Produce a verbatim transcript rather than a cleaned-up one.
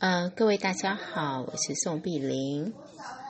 呃，各位大家好，我是宋碧玲。